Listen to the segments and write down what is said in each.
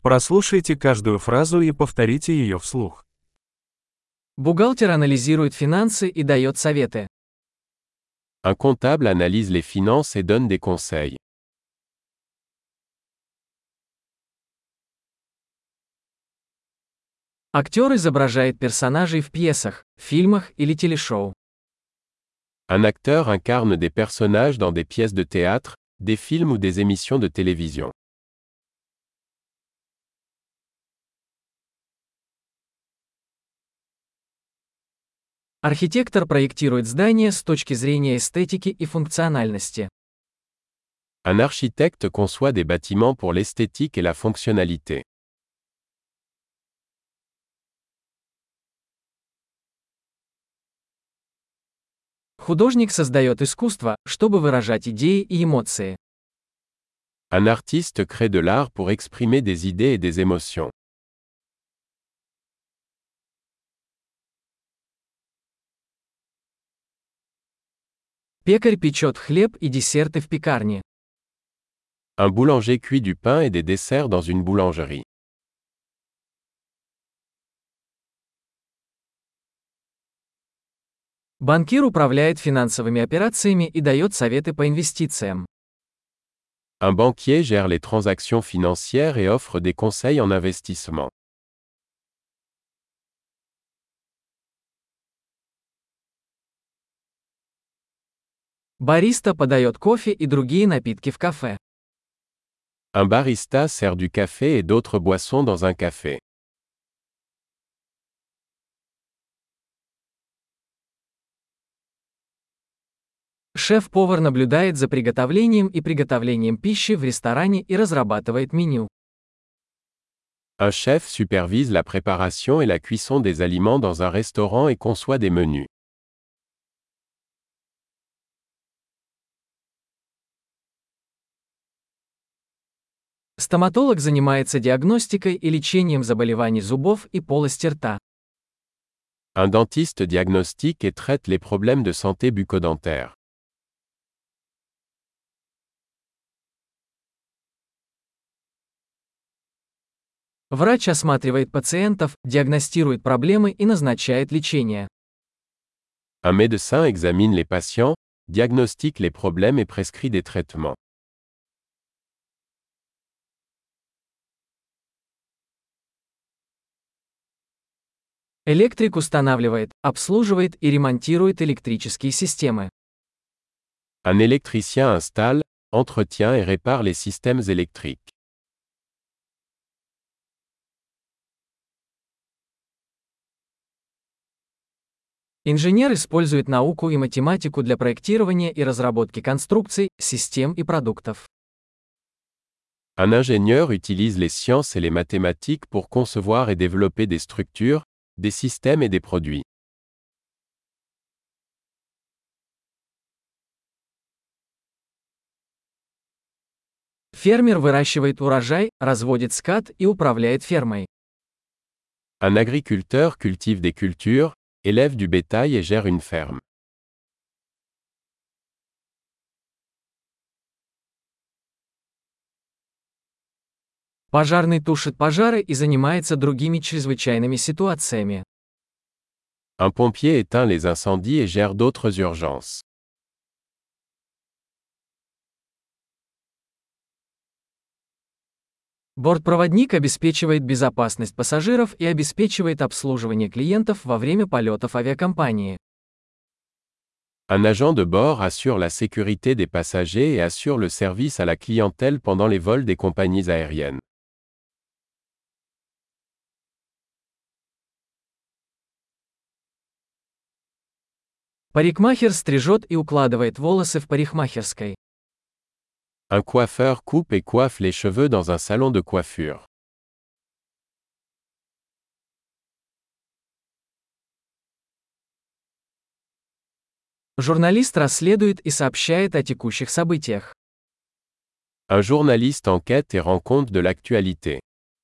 Прослушайте каждую фразу и повторите ее вслух. Бухгалтер анализирует финансы и дает советы. Un comptable analyse les finances et donne des conseils. Актер изображает персонажей в пьесах, фильмах или телешоу. Un acteur incarne des personnages dans des pièces de théâtre, des films ou des émissions de télévision. Архитектор проектирует здание с точки зрения эстетики и функциональности. Un architecte conçoit des bâtiments pour l'esthétique et la fonctionnalité. Художник создает искусство, чтобы выражать идеи и эмоции. Un artiste crée de l'art pour exprimer des idées et des émotions. Пекарь печет хлеб и десерты в пекарне. Un boulanger cuit du pain et des desserts dans une boulangerie. Банкир управляет финансовыми операциями и дает советы по инвестициям. Un banquier gère les transactions financières et offre des conseils en investissement. Бариста подает кофе и другие напитки в кафе. Un barista sert du café et d'autres boissons dans un café. Шеф-повар наблюдает за приготовлением и приготовлением пищи в ресторане и разрабатывает меню. Un chef supervise la préparation et la cuisson des aliments dans un restaurant et conçoit des menus. Стоматолог занимается диагностикой и лечением заболеваний зубов и полости рта. Un dentiste diagnostique et traite les problèmes de santé bucco-dentaire. Врач осматривает пациентов, диагностирует проблемы и назначает лечение. Un médecin examine les patients, diagnostique les problèmes et prescrit des traitements. Электрик устанавливает, обслуживает и ремонтирует электрические системы. Un électricien installe, entretient et répare les systèmes électriques. Инженер использует науку и математику для проектирования и разработки конструкций, систем и продуктов. Un ingénieur utilise les sciences et les mathématiques pour concevoir et développer des structures, des systèmes et des produits. Фермер выращивает урожай, разводит скот и управляет фермой. Un agriculteur cultive des cultures, élève du bétail et gère une ferme. Пожарный тушит пожары и занимается другими чрезвычайными ситуациями. Un pompier éteint les incendies et gère d'autres urgences. Бортпроводник обеспечивает безопасность пассажиров и обеспечивает обслуживание клиентов во время полетов авиакомпании. Un agent de bord assure la sécurité des passagers et assure le service à la clientèle pendant les vols des compagnies aériennes. Парикмахер стрижет и укладывает волосы в парикмахерской. Un coiffeur coupe et coiffe les cheveux dans un salon de coiffure. Журналист расследует и сообщает о текущих событиях. Un journaliste enquête et rend compte de l'actualité.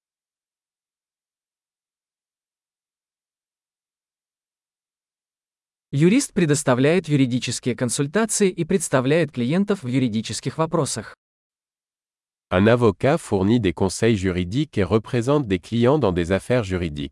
Юрист предоставляет юридические консультации и представляет клиентов в юридических вопросах. Un avocat fournit des conseils juridiques et représente des clients dans des affaires juridiques.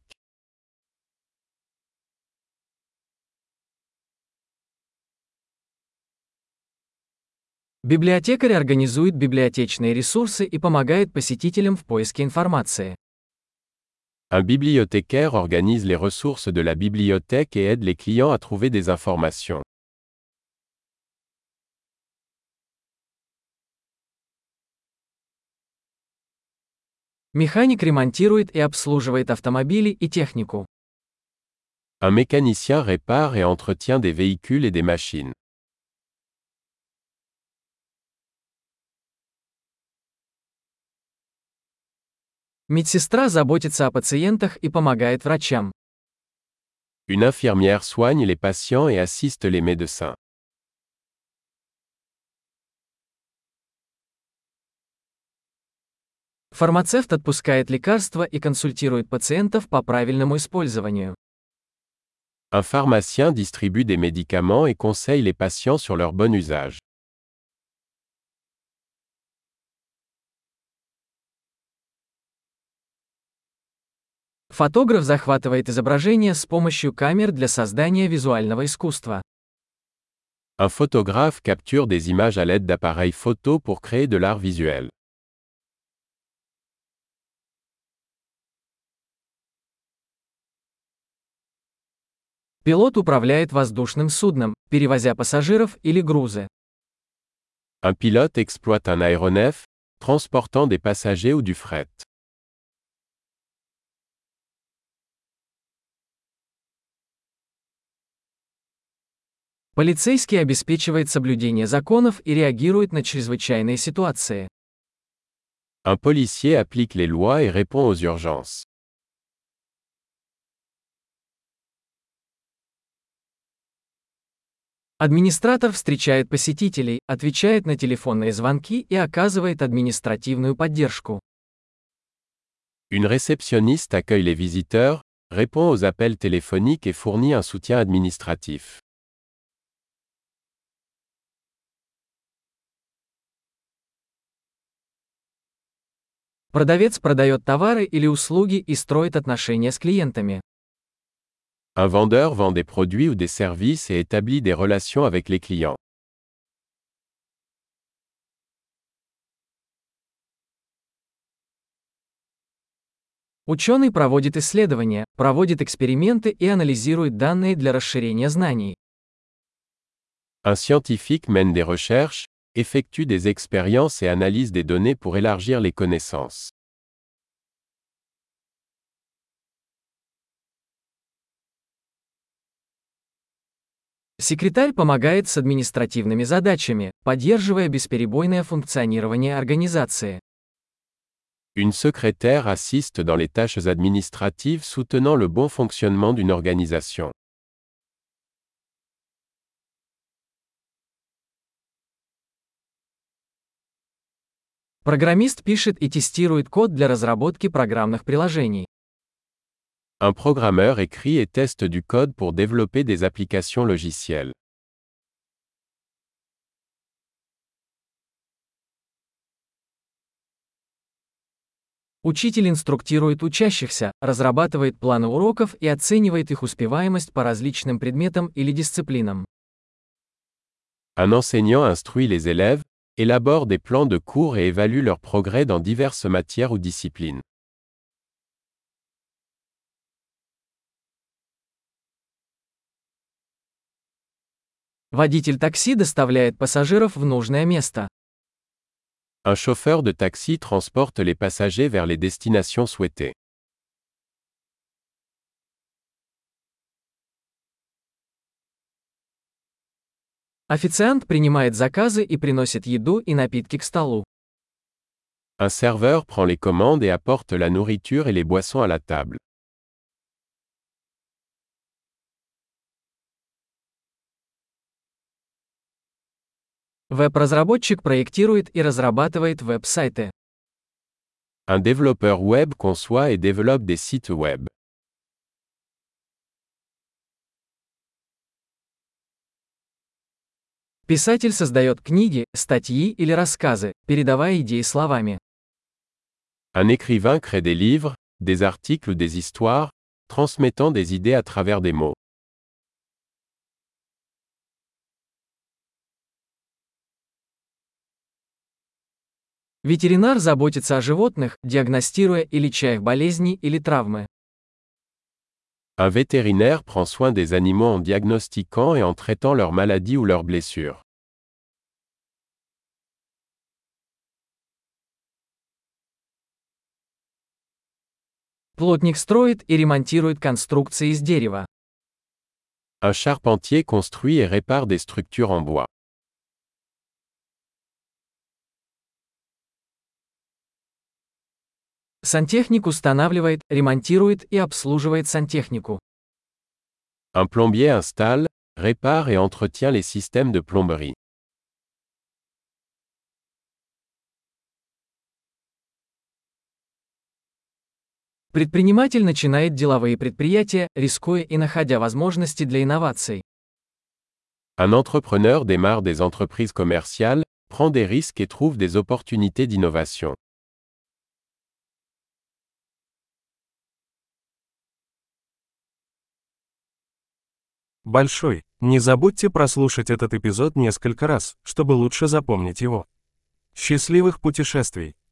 Библиотекарь организует библиотечные ресурсы и помогает посетителям в поиске информации. Un bibliothécaire organise les ressources de la bibliothèque et aide les clients à trouver des informations. Механик ремонтирует и обслуживает автомобили и технику. Un mécanicien répare et entretient des véhicules et des machines. Медсестра заботится о пациентах и помогает врачам. Une infirmière soigne les patients et assiste les médecins. Фармацевт отпускает лекарства и консультирует пациентов по правильному использованию. Un pharmacien distribue des médicaments et conseille les patients sur leur bon usage. Фотограф захватывает изображение с помощью камер для создания визуального искусства. Un photographe capture des images à l'aide d'appareils photo pour créer de l'art visuel. Пилот управляет воздушным судном, перевозя пассажиров или грузы. Un pilote exploite un aéronef, transportant des passagers ou du fret. Полицейский обеспечивает соблюдение законов и реагирует на чрезвычайные ситуации. Un policier applique les lois et répond aux urgences. Администратор встречает посетителей, отвечает на телефонные звонки и оказывает административную поддержку. Une réceptionniste accueille les visiteurs, répond aux appels téléphoniques et fournit un soutien administratif. Продавец продает товары или услуги и строит отношения с клиентами. Un vendeur vend des produits ou des services et établit des relations avec les clients. Ученый проводит исследования, проводит эксперименты и анализирует данные для расширения знаний. Un scientifique mène des recherches, effectue des expériences et analyse des données pour élargir les connaissances. Секретарь помогает с административными задачами, поддерживая бесперебойное функционирование организации. Une secrétaire assiste dans les tâches administratives soutenant le bon fonctionnement d'une organisation. Программист пишет и тестирует код для разработки программных приложений. Un programmeur écrit et teste du code pour développer des applications logicielles. Учитель инструктирует учащихся, разрабатывает планы уроков и оценивает их успеваемость по различным предметам или дисциплинам. Un enseignant instruit les élèves, élabore des plans de cours et évalue leur progrès dans diverses matières ou disciplines. Водитель такси доставляет пассажиров в нужное место. Un chauffeur de taxi transporte les passagers vers les destinations souhaitées. Официант принимает заказы и приносит еду и напитки к столу. Un serveur prend les commandes et apporte la nourriture et les boissons à la table. Веб-разработчик проектирует и разрабатывает веб-сайты. Un développeur web conçoit et développe des sites web. Писатель создает книги, статьи или рассказы, передавая идеи словами. Un écrivain crée des livres, des articles ou des histoires, transmettant des idées à travers des mots. Ветеринар заботится о животных, диагностируя и леча их болезни или травмы. Un vétérinaire prend soin des animaux en diagnostiquant et en traitant leurs maladies ou leurs blessures. Плотник строит и ремонтирует конструкции из дерева. Un charpentier construit et répare des structures en bois. Сантехник устанавливает, ремонтирует и обслуживает сантехнику. Un plombier installe, répare et entretient les systèmes de plomberie. Предприниматель начинает деловые предприятия, рискуя и находя возможности для инноваций. Un entrepreneur démarre des entreprises commerciales, prend des risques et trouve des opportunités d'innovation. Большой. Не забудьте прослушать этот эпизод несколько раз, чтобы лучше запомнить его. Счастливых путешествий!